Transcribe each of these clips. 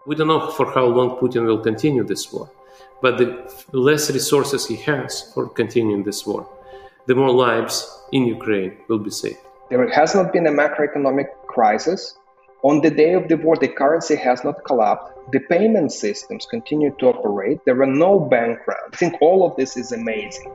We don't know for how long Putin will continue this war, but the less resources he has for continuing this war, the more lives in Ukraine will be saved. There has not been a macroeconomic crisis. On the day of the war, the currency has not collapsed. The payment systems continue to operate. There are no bank runs. I think all of this is amazing.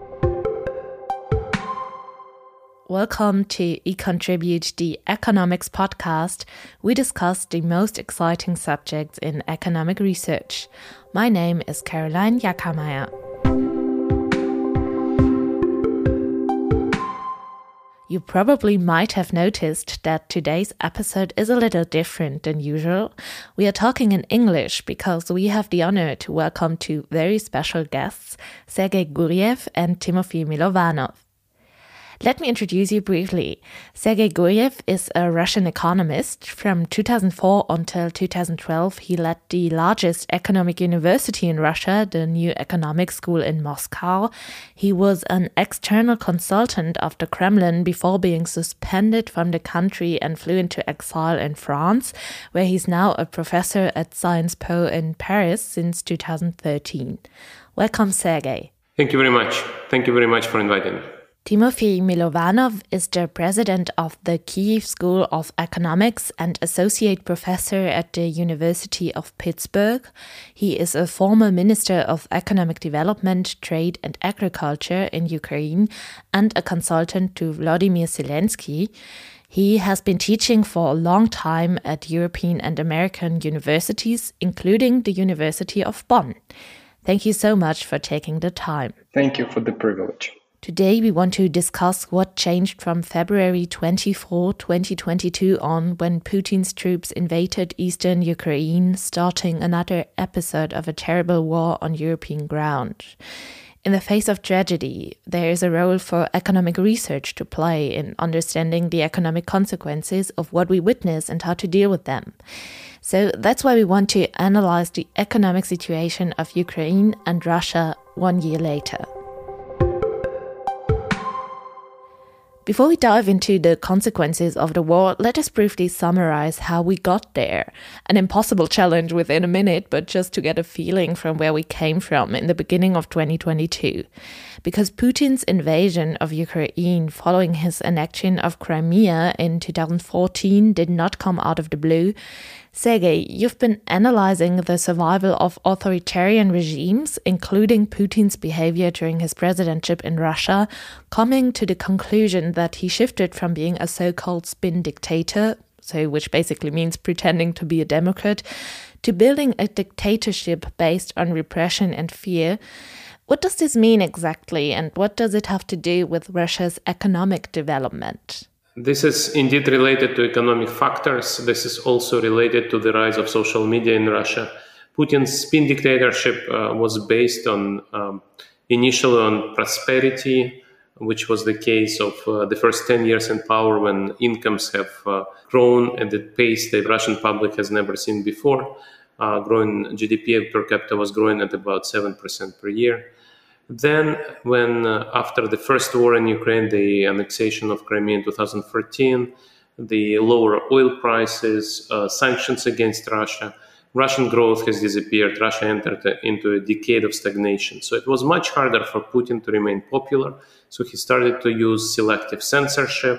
Welcome to eContribute, the economics podcast. We discuss the most exciting subjects in economic research. My name is Caroline Jackermeier. You probably might have noticed that today's episode is a little different than usual. We are talking in English because we have the honor to welcome two very special guests, Sergei Guriev and Timofey Milovanov. Let me introduce you briefly. Sergei Guriev is a Russian economist. From 2004 until 2012, he led the largest economic university in Russia, the New Economic School in Moscow. He was an external consultant of the Kremlin before being suspended from the country and flew into exile in France, where he's now a professor at Sciences Po in Paris since 2013. Welcome, Sergei. Thank you very much. Thank you very much for inviting me. Timofey Milovanov is the president of the Kyiv School of Economics and associate professor at the University of Pittsburgh. He is a former minister of economic development, trade and agriculture in Ukraine and a consultant to Vladimir Zelensky. He has been teaching for a long time at European and American universities, including the University of Bonn. Thank you so much for taking the time. Thank you for the privilege. Today we want to discuss what changed from February 24, 2022 on when Putin's troops invaded eastern Ukraine, starting another episode of a terrible war on European ground. In the face of tragedy, there is a role for economic research to play in understanding the economic consequences of what we witness and how to deal with them. So that's why we want to analyze the economic situation of Ukraine and Russia 1 year later. Before we dive into the consequences of the war, let us briefly summarize how we got there. An impossible challenge within a minute, but just to get a feeling from where we came from in the beginning of 2022. Because Putin's invasion of Ukraine following his annexion of Crimea in 2014 did not come out of the blue. Sergei, you've been analyzing the survival of authoritarian regimes, including Putin's behavior during his presidency in Russia, coming to the conclusion that he shifted from being a so-called spin dictator, which basically means pretending to be a democrat, to building a dictatorship based on repression and fear. What does this mean exactly, and what does it have to do with Russia's economic development? This is indeed related to economic factors. This is also related to the rise of social media in Russia. Putin's spin dictatorship was based on initially on prosperity, which was the case of the first 10 years in power when incomes have grown at the pace the Russian public has never seen before. Growing GDP per capita was growing at about 7% per year. Then, when after the first war in Ukraine, the annexation of Crimea in 2014, the lower oil prices, sanctions against Russia, Russian growth has disappeared. Russia entered into a decade of stagnation. So it was much harder for Putin to remain popular. So he started to use selective censorship,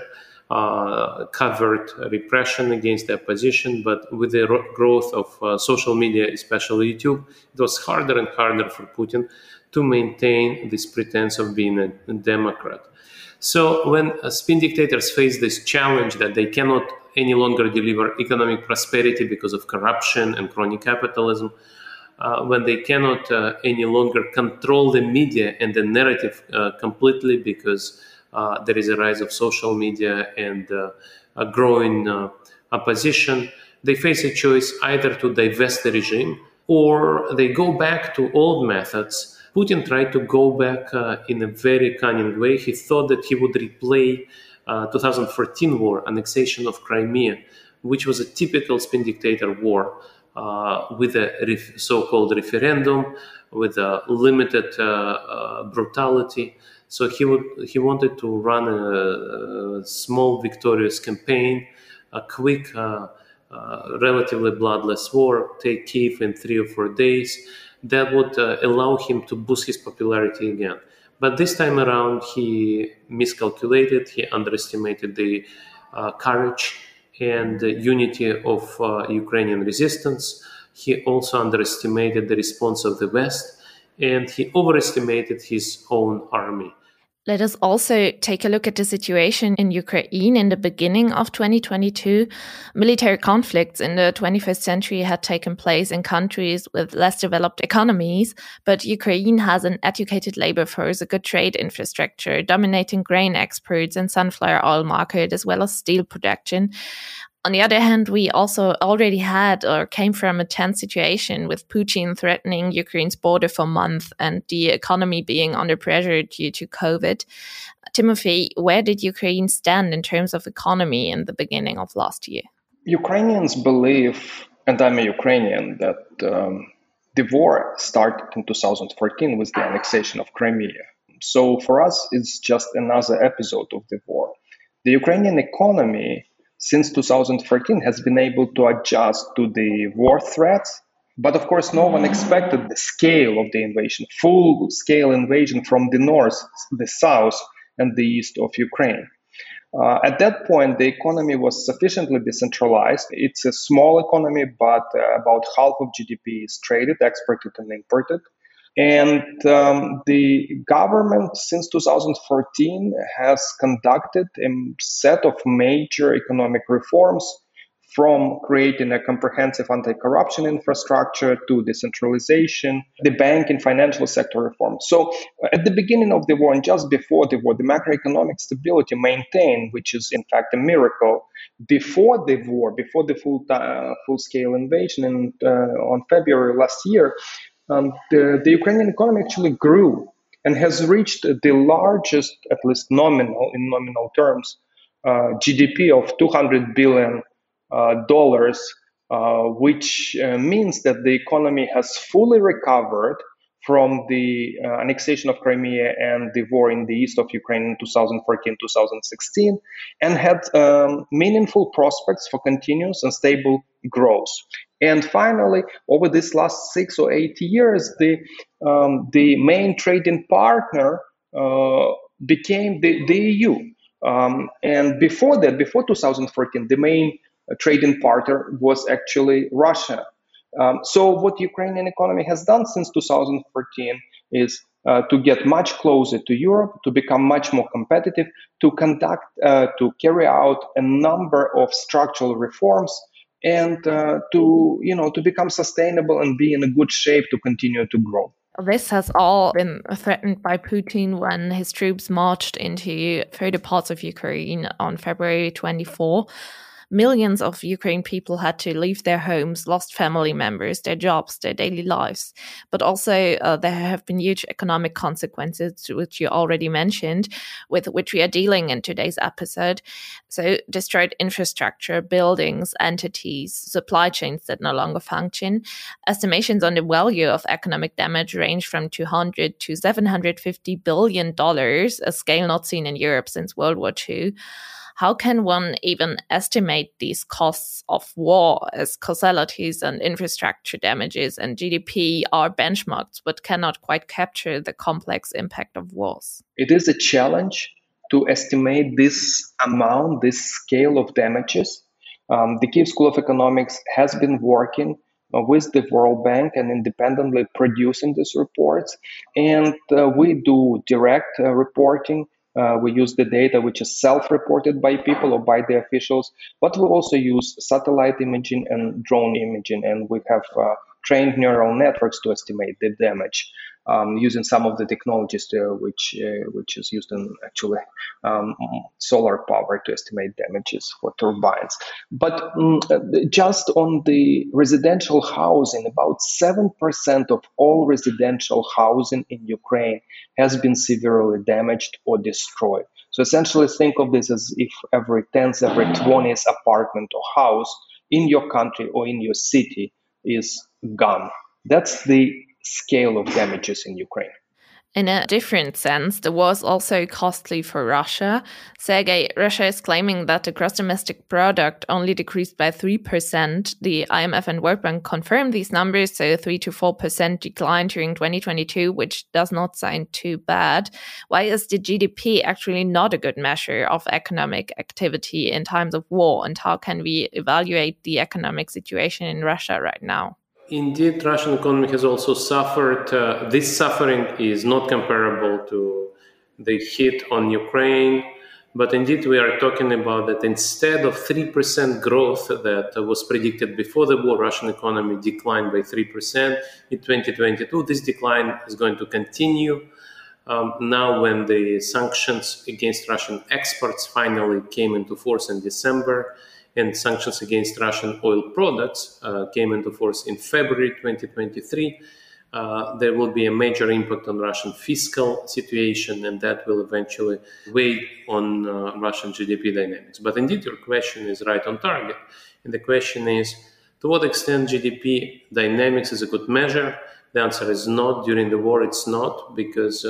covert repression against the opposition. But with the growth of social media, especially YouTube, it was harder and harder for Putin to maintain this pretense of being a democrat. So when spin dictators face this challenge that they cannot any longer deliver economic prosperity because of corruption and crony capitalism, when they cannot any longer control the media and the narrative completely because there is a rise of social media and a growing opposition, they face a choice either to divest the regime or they go back to old methods. Putin tried to go back in a very cunning way. He thought that he would replay 2014 war, annexation of Crimea, which was a typical spin dictator war with a so-called referendum, with a limited brutality. So he wanted to run a small victorious campaign, a quick relatively bloodless war, take Kiev in 3 or 4 days, that would allow him to boost his popularity again. But this time around, he miscalculated, he underestimated the courage and the unity of Ukrainian resistance. He also underestimated the response of the West, and he overestimated his own army. Let us also take a look at the situation in Ukraine in the beginning of 2022. Military conflicts in the 21st century had taken place in countries with less developed economies, but Ukraine has an educated labor force, a good trade infrastructure, dominating grain exports and sunflower oil market, as well as steel production. On the other hand, we also already had or came from a tense situation with Putin threatening Ukraine's border for months and the economy being under pressure due to COVID. Timothy, where did Ukraine stand in terms of economy in the beginning of last year? Ukrainians believe, and I'm a Ukrainian, that the war started in 2014 with the annexation of Crimea. So for us, it's just another episode of the war. The Ukrainian economy since 2014 has been able to adjust to the war threats. But of course, no one expected the scale of the invasion, full-scale invasion from the north, the south, and the east of Ukraine. At that point, the economy was sufficiently decentralized. It's a small economy, but about half of GDP is traded, exported, and imported. And the government since 2014 has conducted a set of major economic reforms, from creating a comprehensive anti-corruption infrastructure to decentralization, the bank and financial sector reform. So at the beginning of the war and just before the war, the macroeconomic stability maintained, which is in fact a miracle. Before the war, before the full-scale invasion on February last year, the Ukrainian economy actually grew and has reached the largest, at least in nominal terms, GDP of $200 billion, which means that the economy has fully recovered from the annexation of Crimea and the war in the east of Ukraine in 2014-2016, and had meaningful prospects for continuous and stable growth. And finally, over these last 6 or 8 years, the main trading partner became the EU. And before that, before 2014, the main trading partner was actually Russia. So what Ukrainian economy has done since 2014 is to get much closer to Europe, to become much more competitive, to carry out a number of structural reforms, and to become sustainable and be in a good shape to continue to grow. This has all been threatened by Putin when his troops marched into further parts of Ukraine on February 24. Millions of Ukrainian people had to leave their homes, lost family members, their jobs, their daily lives. But also there have been huge economic consequences, which you already mentioned, with which we are dealing in today's episode. So destroyed infrastructure, buildings, entities, supply chains that no longer function. Estimations on the value of economic damage range from $200 to $750 billion, a scale not seen in Europe since World War II. How can one even estimate these costs of war, as causalities and infrastructure damages and GDP are benchmarks but cannot quite capture the complex impact of wars? It is a challenge to estimate this amount, this scale of damages. The Kyiv School of Economics has been working with the World Bank and independently producing these reports. And we do direct reporting. We use the data which is self-reported by people or by the officials, but we also use satellite imaging and drone imaging, and we have trained neural networks to estimate the damage using some of the technologies which is used in actually solar power to estimate damages for turbines. But just on the residential housing, about 7% of all residential housing in Ukraine has been severely damaged or destroyed. So essentially think of this as if every 10th, every 20th apartment or house in your country or in your city is gone. That's the scale of damages in Ukraine. In a different sense, the war is also costly for Russia. Sergei, Russia is claiming that the gross domestic product only decreased by 3%. The IMF and World Bank confirmed these numbers, so 3 to 4% decline during 2022, which does not sound too bad. Why is the GDP actually not a good measure of economic activity in times of war, and how can we evaluate the economic situation in Russia right now? Indeed, Russian economy has also suffered. This suffering is not comparable to the hit on Ukraine, but indeed we are talking about that instead of 3% growth that was predicted before the war, Russian economy declined by 3% in 2022. This decline is going to continue now when the sanctions against Russian exports finally came into force in December, and sanctions against Russian oil products came into force in February 2023. There will be a major impact on Russian fiscal situation, and that will eventually weigh on Russian GDP dynamics. But indeed, your question is right on target. And the question is, to what extent GDP dynamics is a good measure? The answer is not. During the war, it's not, because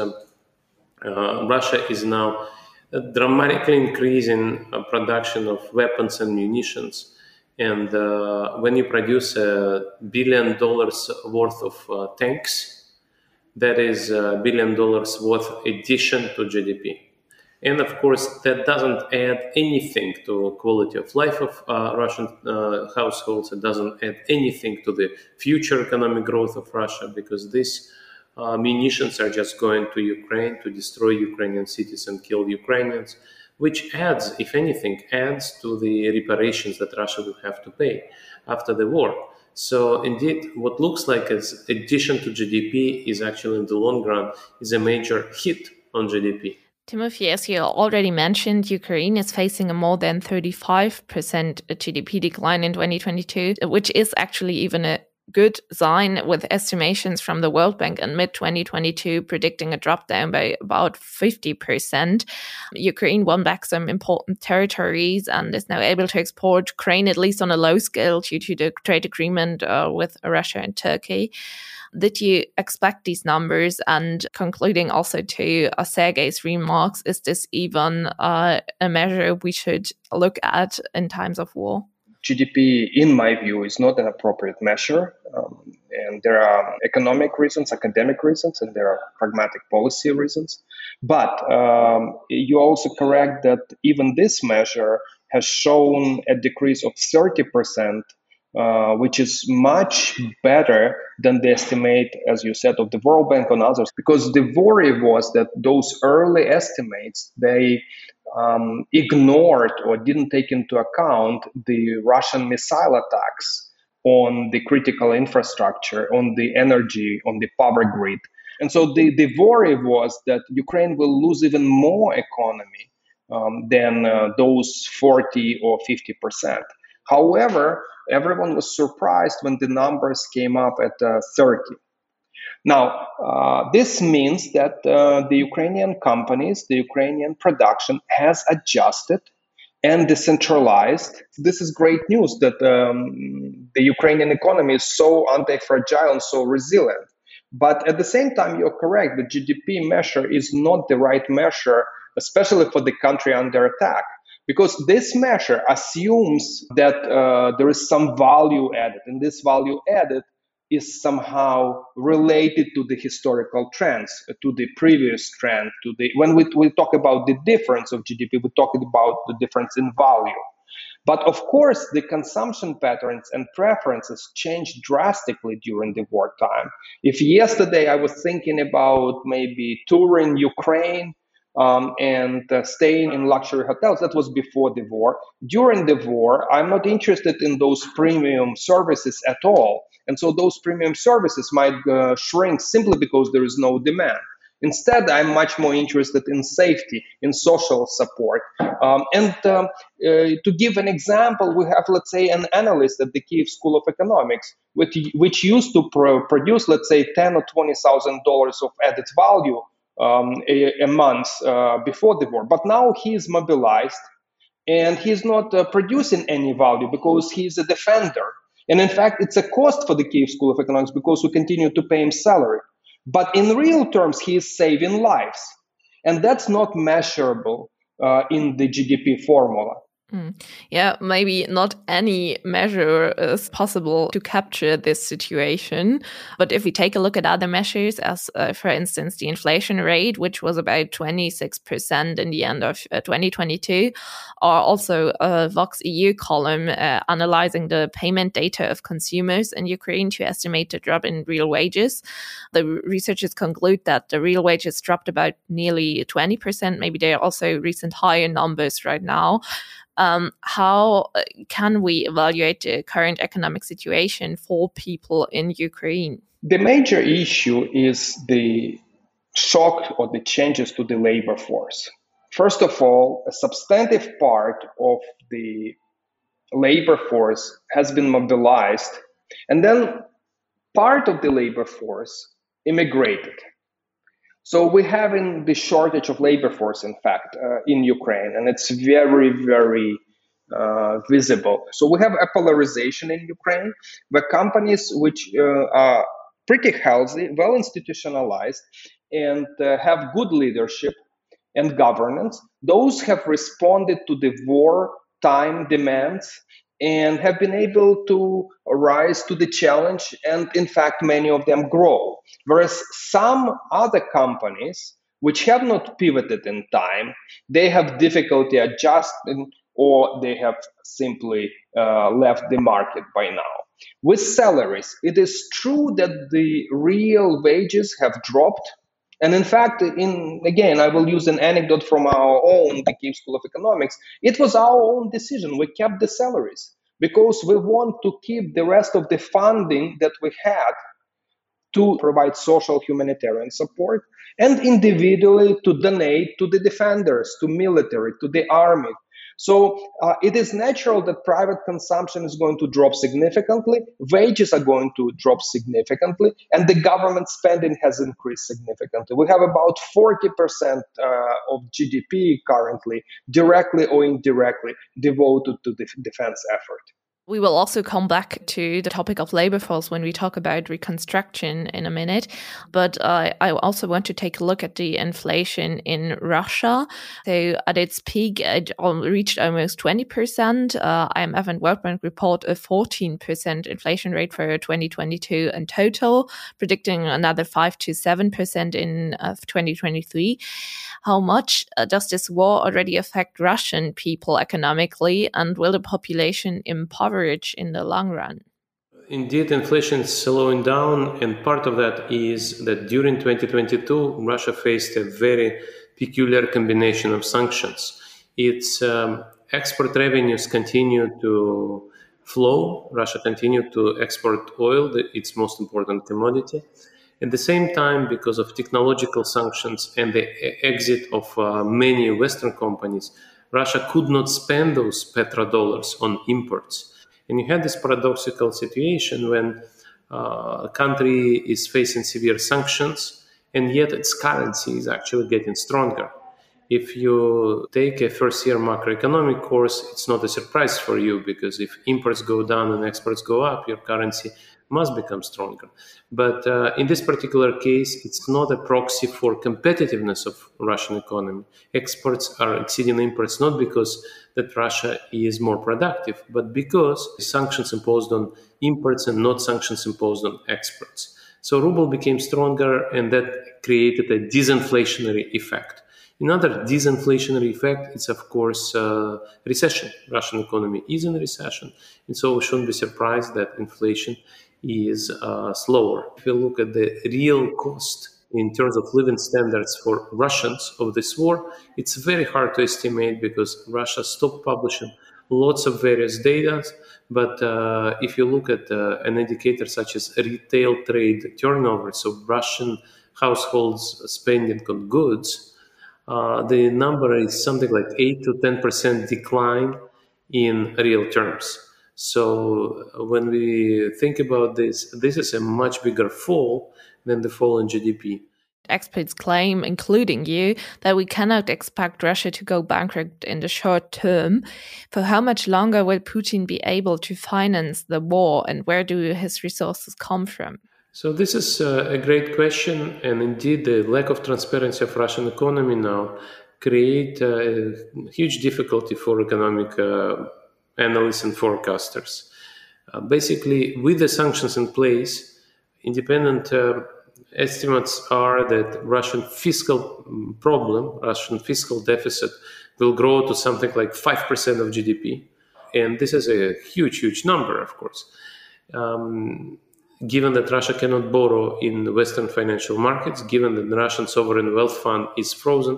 Russia is now dramatically increasing production of weapons and munitions. And when you produce $1 billion worth of tanks, that is $1 billion worth addition to GDP. And of course, that doesn't add anything to quality of life of Russian households. It doesn't add anything to the future economic growth of Russia, because these munitions are just going to Ukraine to destroy Ukrainian cities and kill Ukrainians, which adds, if anything, adds to the reparations that Russia will have to pay after the war. So indeed, what looks like as addition to GDP is actually in the long run is a major hit on GDP. Timothy, as you already mentioned, Ukraine is facing a more than 35% GDP decline in 2022, which is actually even a good sign, with estimations from the World Bank in mid-2022 predicting a drop down by about 50%. Ukraine won back some important territories and is now able to export grain, at least on a low scale, due to the trade agreement with Russia and Turkey. Did you expect these numbers? And concluding also to Sergei's remarks, is this even a measure we should look at in times of war? GDP, in my view, is not an appropriate measure. And there are economic reasons, academic reasons, and there are pragmatic policy reasons. But you're also correct that even this measure has shown a decrease of 30%, which is much better than the estimate, as you said, of the World Bank and others. Because the worry was that those early estimates, they ignored or didn't take into account the Russian missile attacks on the critical infrastructure, on the energy, on the power grid. And so the worry was that Ukraine will lose even more economy than those 40 or 50%. However, everyone was surprised when the numbers came up at 30. Now, this means that the Ukrainian companies, the Ukrainian production has adjusted and decentralized. This is great news that the Ukrainian economy is so anti-fragile and so resilient. But at the same time, you're correct, the GDP measure is not the right measure, especially for the country under attack. Because this measure assumes that there is some value added, and this value added is somehow related to the historical trends, to the previous trend, when we talk about the difference of GDP, we're talking about the difference in value. But of course, the consumption patterns and preferences changed drastically during the wartime. If yesterday I was thinking about maybe touring Ukraine, and staying in luxury hotels, that was before the war. During the war, I'm not interested in those premium services at all. And so those premium services might shrink simply because there is no demand. Instead, I'm much more interested in safety, in social support. To give an example, we have, let's say, an analyst at the Kyiv School of Economics, which used to produce, let's say, $10,000 or $20,000 of added value a month before the war. But now he is mobilized and he's not producing any value because he's a defender. And in fact, it's a cost for the Kyiv School of Economics because we continue to pay him salary. But in real terms, he is saving lives. And that's not measurable in the GDP formula. Yeah, maybe not any measure is possible to capture this situation. But if we take a look at other measures, as for instance, the inflation rate, which was about 26% in the end of 2022, or also a Vox EU column analyzing the payment data of consumers in Ukraine to estimate the drop in real wages, the researchers conclude that the real wages dropped about nearly 20%. Maybe there are also recent higher numbers right now. How can we evaluate the current economic situation for people in Ukraine? The major issue is the shock or the changes to the labor force. First of all, a substantive part of the labor force has been mobilized, and then part of the labor force immigrated. So we have in the shortage of labor force, in fact, in Ukraine, and it's very, very visible. So we have a polarization in Ukraine, where companies which are pretty healthy, well institutionalized, and have good leadership and governance, those have responded to the wartime demands and have been able to rise to the challenge, and in fact many of them grow. Whereas some other companies which have not pivoted in time, they have difficulty adjusting, or they have simply left the market by now. With salaries, it is true that the real wages have dropped. And in fact, again, I will use an anecdote from our own, the Kyiv School of Economics. It was our own decision. We kept the salaries because we want to keep the rest of the funding that we had to provide social humanitarian support, and individually to donate to the defenders, to military, to the army. So it is natural that private consumption is going to drop significantly, wages are going to drop significantly, and the government spending has increased significantly. We have about 40% of GDP currently, directly or indirectly, devoted to the defense effort. We will also come back to the topic of labor force when we talk about reconstruction in a minute. But I also want to take a look at the inflation in Russia. So at its peak, it reached almost 20%. IMF and World Bank report a 14% inflation rate for 2022 in total, predicting another 5 to 7% in 2023. How much does this war already affect Russian people economically, and will the population impoverish in the long run? Indeed, inflation is slowing down, and part of that is that during 2022, Russia faced a very peculiar combination of sanctions. Its export revenues continue to flow. Russia continued to export oil, its most important commodity. At the same time, because of technological sanctions and the exit of many Western companies, Russia could not spend those petrodollars on imports. And you had this paradoxical situation when a country is facing severe sanctions, and yet its currency is actually getting stronger. If you take a first-year macroeconomic course, it's not a surprise for you, because if imports go down and exports go up, your currency must become stronger. But in this particular case, it's not a proxy for competitiveness of Russian economy. Exports are exceeding imports not because that Russia is more productive, but because sanctions imposed on imports and not sanctions imposed on exports. So ruble became stronger, and that created a disinflationary effect. Another disinflationary effect is, of course, recession. Russian economy is in recession, and so we shouldn't be surprised that inflation is slower. If you look at the real cost in terms of living standards for Russians of this war, it's very hard to estimate because Russia stopped publishing lots of various data. But if you look at an indicator such as retail trade turnover, so Russian households spending on goods, the number is something like 8 to 10% decline in real terms. So when we think about this, this is a much bigger fall than the fall in GDP. Experts claim, including you, that we cannot expect Russia to go bankrupt in the short term. For how much longer will Putin be able to finance the war, and where do his resources come from? So this is a great question, and indeed the lack of transparency of Russian economy now create a huge difficulty for economic analysts and forecasters. Basically, with the sanctions in place, independent estimates are that Russian fiscal Russian fiscal deficit will grow to something like 5% of GDP. And this is a huge, huge number, of course. Given that Russia cannot borrow in the Western financial markets, given that the Russian sovereign wealth fund is frozen,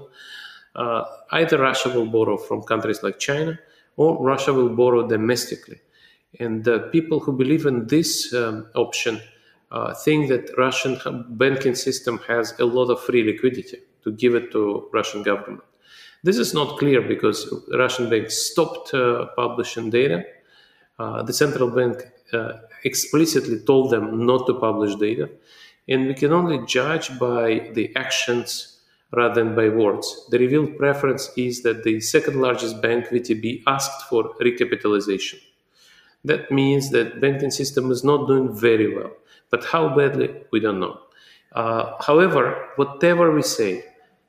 either Russia will borrow from countries like China or Russia will borrow domestically. And the people who believe in this option think that Russian banking system has a lot of free liquidity to give it to Russian government. This is not clear because Russian banks stopped publishing data. The central bank explicitly told them not to publish data. And we can only judge by the actions rather than by words. The revealed preference is that the second largest bank, VTB, asked for recapitalization. That means that banking system is not doing very well. But how badly, we don't know. However, whatever we say,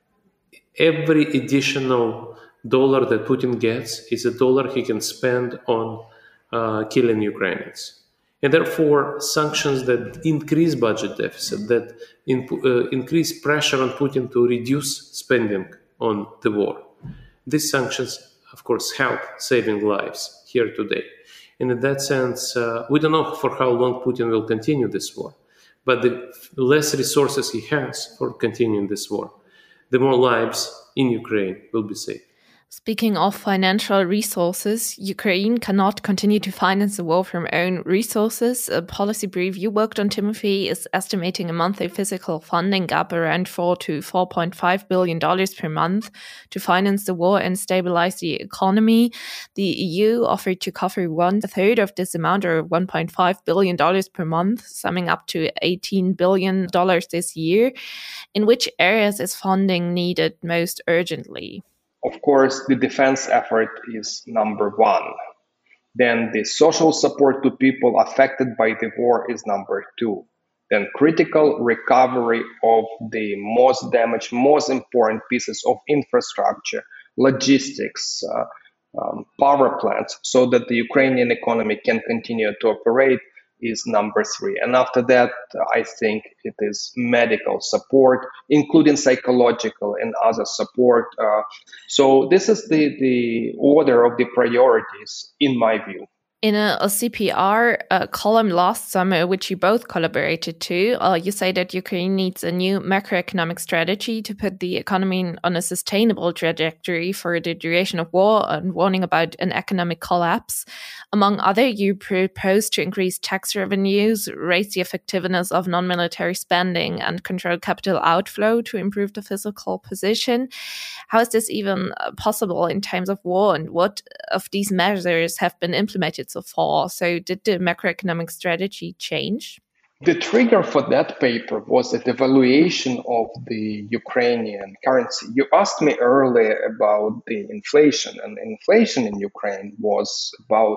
every additional dollar that Putin gets is a dollar he can spend on killing Ukrainians. And therefore, sanctions that increase budget deficit, that increase pressure on Putin to reduce spending on the war. These sanctions, of course, help saving lives here today. And in that sense, we don't know for how long Putin will continue this war. But the less resources he has for continuing this war, the more lives in Ukraine will be saved. Speaking of financial resources, Ukraine cannot continue to finance the war from own resources. A policy brief you worked on, Timothy, is estimating a monthly physical funding gap around $4 to $4.5 billion per month to finance the war and stabilize the economy. The EU offered to cover 1/3 of this amount, or $1.5 billion per month, summing up to $18 billion this year. In which areas is funding needed most urgently? Of course, the defense effort is number one. Then the social support to people affected by the war is number two. Then critical recovery of the most damaged, most important pieces of infrastructure, logistics, power plants, so that the Ukrainian economy can continue to operate is number three. And after that, I think it is medical support, including psychological and other support. So this is the order of the priorities, in my view. In a CPR column last summer, which you both collaborated to, you say that Ukraine needs a new macroeconomic strategy to put the economy on a sustainable trajectory for the duration of war, and warning about an economic collapse. Among other, you propose to increase tax revenues, raise the effectiveness of non-military spending, and control capital outflow to improve the fiscal position. How is this even possible in times of war, and what of these measures have been implemented so far? So did the macroeconomic strategy change? The trigger for that paper was the devaluation of the Ukrainian currency. You asked me earlier about the inflation, and inflation in Ukraine was about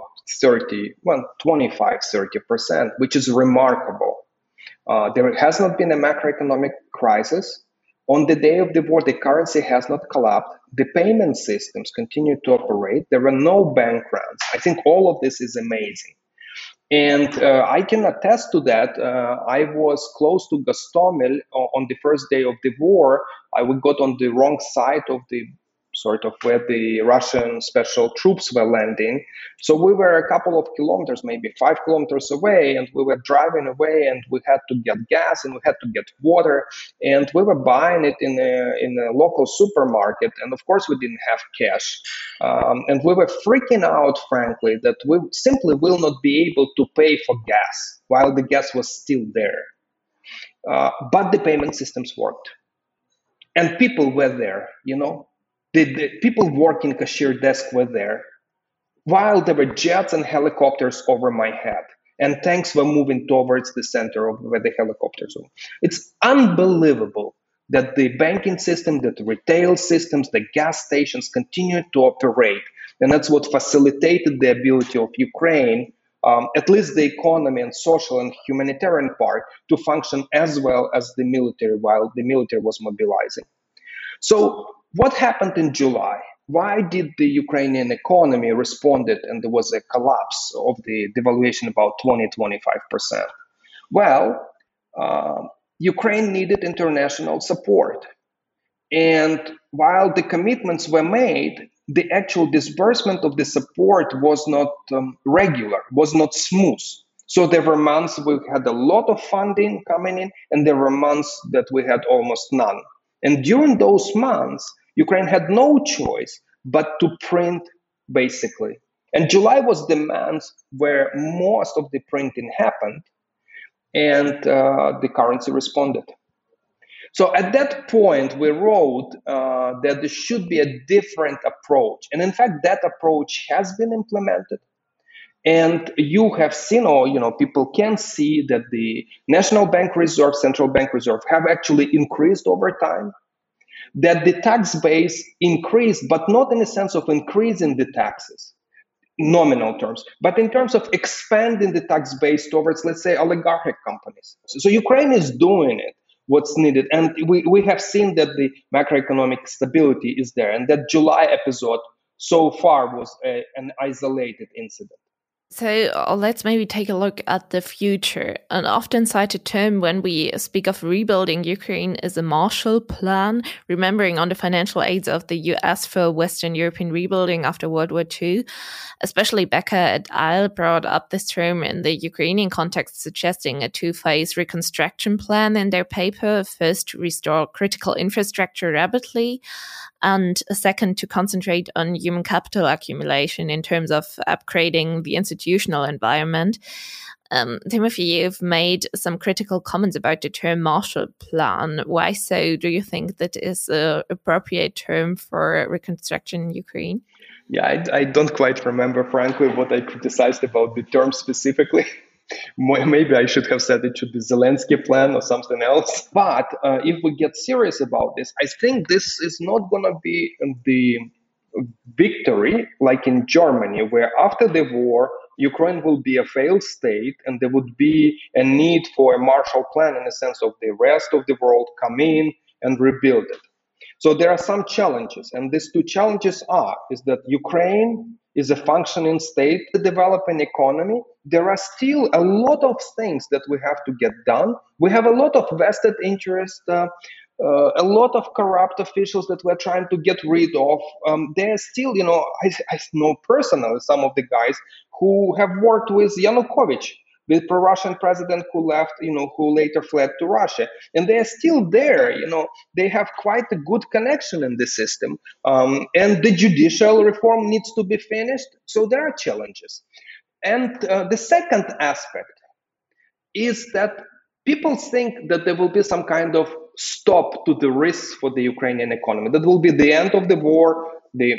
25-30%, which is remarkable. There has not been a macroeconomic crisis. On the day of the war, the currency has not collapsed. The payment systems continue to operate. There are no bank runs. I think all of this is amazing. And I can attest to that. I was close to Gostomel on the first day of the war. I got on the wrong side of the sort of where the Russian special troops were landing. So we were a couple of kilometers, maybe 5 kilometers away, and we were driving away, and we had to get gas and we had to get water, and we were buying it in a local supermarket. And of course, we didn't have cash. And we were freaking out, frankly, that we simply will not be able to pay for gas while the gas was still there. But the payment systems worked. And people were there, you know. The people working cashier desk were there, while there were jets and helicopters over my head, and tanks were moving towards the center of where the helicopters were. It's unbelievable that the banking system, that the retail systems, the gas stations continued to operate. And that's what facilitated the ability of Ukraine at least the economy and social and humanitarian part to function as well as the military while the military was mobilizing. So what happened in July? Why did the Ukrainian economy responded and there was a collapse of the devaluation about 20-25%? Well, Ukraine needed international support. And while the commitments were made, the actual disbursement of the support was not regular, was not smooth. So there were months we had a lot of funding coming in, and there were months that we had almost none. And during those months, Ukraine had no choice but to print, basically. And July was the month where most of the printing happened, and the currency responded. So at that point, we wrote that there should be a different approach. And in fact, that approach has been implemented. And you have seen, or people can see that the National Bank Reserve, Central Bank Reserve have actually increased over time. That the tax base increased, but not in the sense of increasing the taxes, nominal terms, but in terms of expanding the tax base towards, let's say, oligarchic companies. So Ukraine is doing it, what's needed. And we have seen that the macroeconomic stability is there, and that July episode so far was an isolated incident. So let's maybe take a look at the future. An often cited term when we speak of rebuilding Ukraine is a Marshall Plan, remembering on the financial aids of the US for Western European rebuilding after World War II. Especially Becker et al. Brought up this term in the Ukrainian context, suggesting a two-phase reconstruction plan in their paper. First, to restore critical infrastructure rapidly, and a second, to concentrate on human capital accumulation in terms of upgrading the institutional environment. Timothy, you've made some critical comments about the term Marshall Plan. Why so? Do you think that is an appropriate term for reconstruction in Ukraine? Yeah, I don't quite remember, frankly, what I criticized about the term specifically. Maybe I should have said it should be Zelensky plan or something else. But if we get serious about this, I think this is not going to be the victory like in Germany, where after the war, Ukraine will be a failed state and there would be a need for a Marshall Plan in the sense of the rest of the world come in and rebuild it. So there are some challenges, and these two challenges is that Ukraine is a functioning state, a developing economy. There are still a lot of things that we have to get done. We have a lot of vested interest, a lot of corrupt officials that we're trying to get rid of. There are still, I know personally some of the guys who have worked with Yanukovych, the pro-Russian president who left, who later fled to Russia. And they're still there, they have quite a good connection in the system. And the judicial reform needs to be finished. So there are challenges. And the second aspect is that people think that there will be some kind of stop to the risks for the Ukrainian economy. That will be the end of the war, the,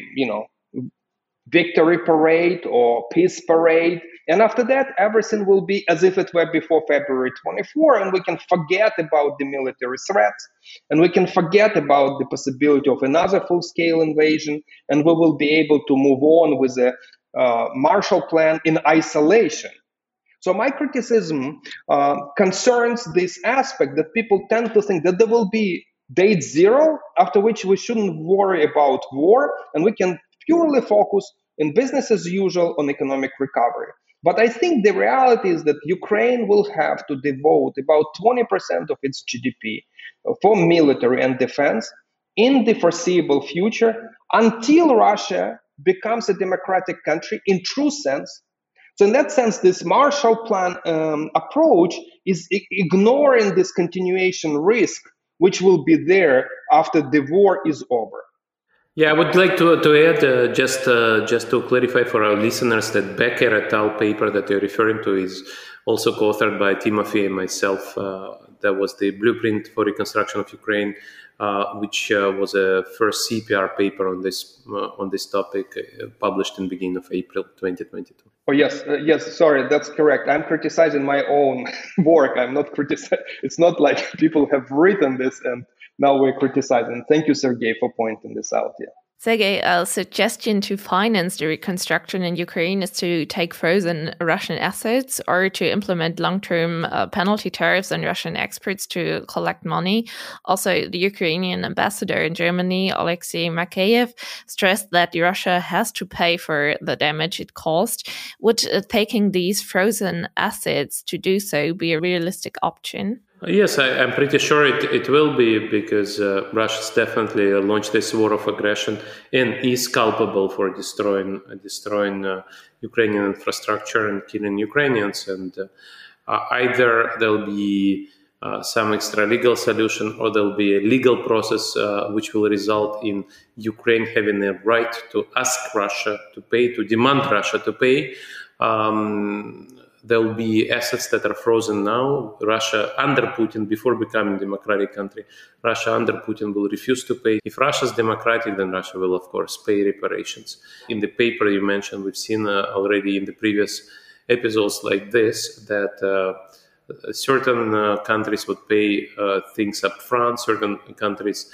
victory parade or peace parade. And after that, everything will be as if it were before February 24, and we can forget about the military threats, and we can forget about the possibility of another full-scale invasion, and we will be able to move on with a Marshall Plan in isolation. So my criticism concerns this aspect that people tend to think that there will be date zero, after which we shouldn't worry about war, and we can purely focus in business as usual on economic recovery. But I think the reality is that Ukraine will have to devote about 20% of its GDP for military and defense in the foreseeable future until Russia becomes a democratic country in true sense. So in that sense, this Marshall Plan approach is ignoring this continuation risk, which will be there after the war is over. Yeah, I would like to add, just to clarify for our listeners, that Becker et al. Paper that you're referring to is also co-authored by Timothy and myself. That was the Blueprint for Reconstruction of Ukraine, which was a first CPR paper on this topic, published in the beginning of April 2022. Oh, yes, sorry, that's correct. I'm criticizing my own work. I'm not criticizing. It's not like people have written this and now we're criticizing. Thank you, Sergey, for pointing this out. Yeah. Sergei, a suggestion to finance the reconstruction in Ukraine is to take frozen Russian assets or to implement long-term penalty tariffs on Russian exports to collect money. Also, the Ukrainian ambassador in Germany, Alexei Makeyev, stressed that Russia has to pay for the damage it caused. Would taking these frozen assets to do so be a realistic option? Yes, I'm pretty sure it will be, because Russia's definitely launched this war of aggression and is culpable for destroying Ukrainian infrastructure and killing Ukrainians. And either there'll be some extra legal solution, or there'll be a legal process which will result in Ukraine having a right to ask Russia to pay, to demand Russia to pay. There will be assets that are frozen now. Russia under Putin, before becoming a democratic country, Russia under Putin will refuse to pay. If Russia is democratic, then Russia will, of course, pay reparations. In the paper you mentioned, we've seen already in the previous episodes like this, that certain countries would pay things up front. Certain countries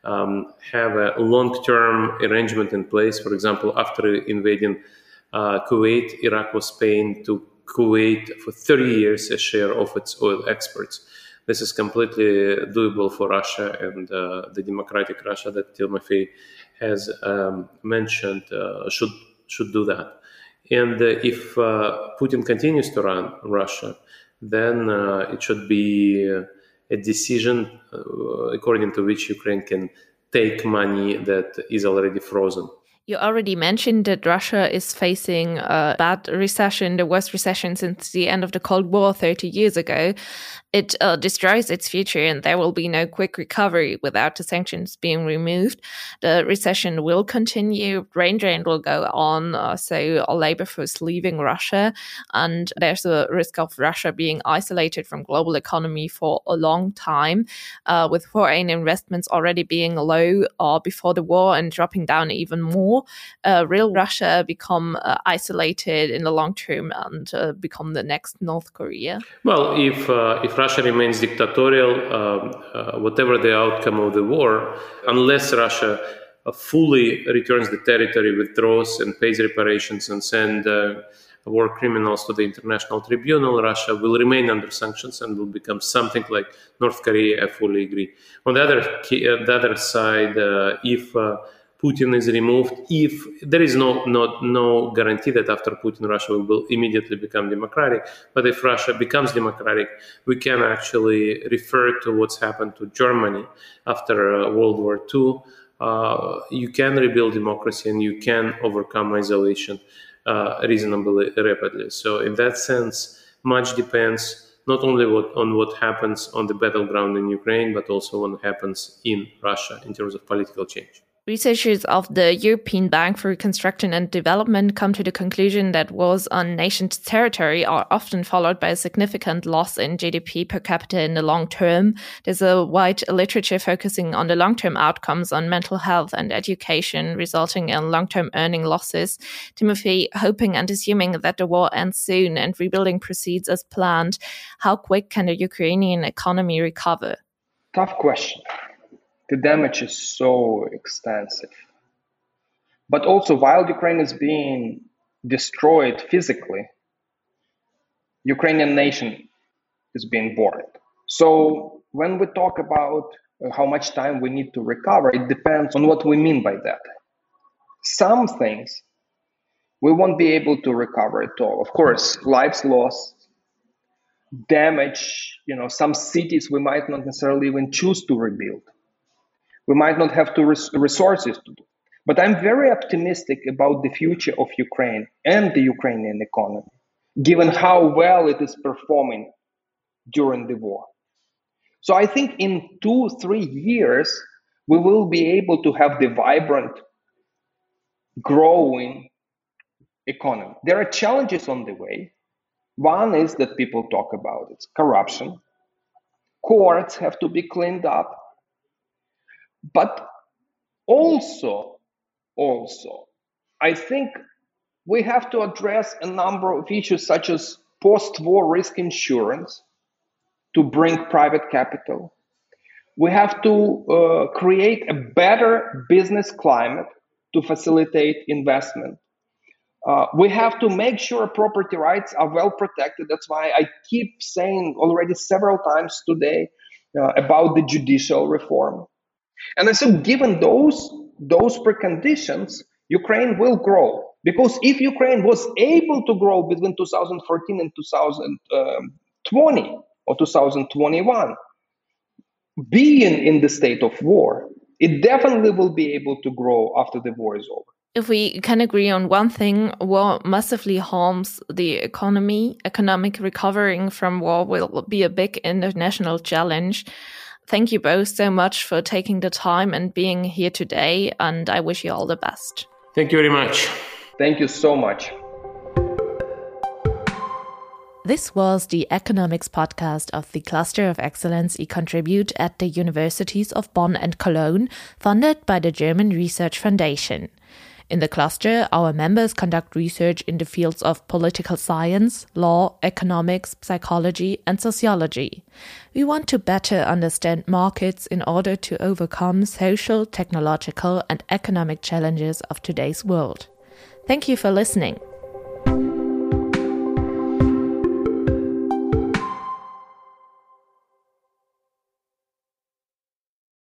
have a long-term arrangement in place. For example, after invading Kuwait, Iraq was paying to Kuwait for 30 years a share of its oil exports. This is completely doable for Russia, and the democratic Russia that Timofey has mentioned should do that. And if Putin continues to run Russia, then it should be a decision according to which Ukraine can take money that is already frozen. You already mentioned that Russia is facing a bad recession, the worst recession since the end of the Cold War 30 years ago. It destroys its future, and there will be no quick recovery without the sanctions being removed. The recession will continue, brain drain will go on, so labor force leaving Russia, and there's a risk of Russia being isolated from global economy for a long time, with foreign investments already being low before the war and dropping down even more. Will Russia become isolated in the long term and become the next North Korea? Well, if Russia remains dictatorial, whatever the outcome of the war, unless Russia fully returns the territory, withdraws and pays reparations and send war criminals to the International Tribunal, Russia will remain under sanctions and will become something like North Korea. I fully agree. On the other side, if Putin is removed, if there is no guarantee that after Putin, Russia will immediately become democratic. But if Russia becomes democratic, we can actually refer to what's happened to Germany after World War II. You can rebuild democracy and you can overcome isolation reasonably rapidly. So in that sense, much depends not only on what happens on the battleground in Ukraine, but also what happens in Russia in terms of political change. Researchers of the European Bank for Reconstruction and Development come to the conclusion that wars on nations' territory are often followed by a significant loss in GDP per capita in the long term. There's a wide literature focusing on the long-term outcomes on mental health and education, resulting in long-term earning losses. Timofey, hoping and assuming that the war ends soon and rebuilding proceeds as planned, how quick can the Ukrainian economy recover? Tough question. The damage is so extensive. But also, while Ukraine is being destroyed physically, Ukrainian nation is being born. So when we talk about how much time we need to recover, it depends on what we mean by that. Some things we won't be able to recover at all. Of course, lives lost, damage, some cities we might not necessarily even choose to rebuild. We might not have the resources to do. But I'm very optimistic about the future of Ukraine and the Ukrainian economy, given how well it is performing during the war. So I think in 2-3 years, we will be able to have the vibrant, growing economy. There are challenges on the way. One is that people talk about, it's corruption. Courts have to be cleaned up. But also, I think we have to address a number of issues such as post-war risk insurance to bring private capital. We have to create a better business climate to facilitate investment. We have to make sure property rights are well protected. That's why I keep saying already several times today about the judicial reform. And I said, given those preconditions, Ukraine will grow. Because if Ukraine was able to grow between 2014 and 2020 or 2021, being in the state of war, it definitely will be able to grow after the war is over. If we can agree on one thing, war massively harms the economy. Economic recovering from war will be a big international challenge. Thank you both so much for taking the time and being here today, and I wish you all the best. Thank you very much. Thank you so much. This was the economics podcast of the Cluster of Excellence eContribute at the Universities of Bonn and Cologne, funded by the German Research Foundation. In the cluster, our members conduct research in the fields of political science, law, economics, psychology, and sociology. We want to better understand markets in order to overcome social, technological, and economic challenges of today's world. Thank you for listening.